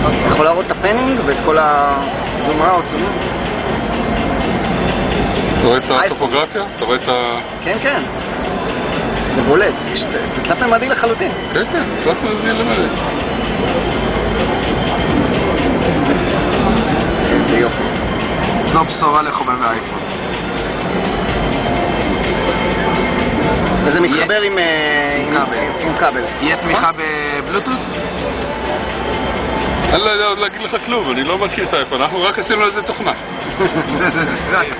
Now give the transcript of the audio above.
אתה יכול להראות את הפנינג ואת כל הזום אאוט, זום אין. אתה רואה את הטופוגרפיה? אתה רואה את ה... כן, כן. זה בולט, זה תלת ממדי לחלוטין. כן, כן, תלת ממדי למדי. איזה יופי. זו בשורה לחובבי האייפון. וזה מתחבר עם כבל. יהיה תמיכה בבלוטות'? אני לא יודע עוד להגיד לך כלום, אני לא מכיר את האייפון, אנחנו רק עשינו לזה תוכנה.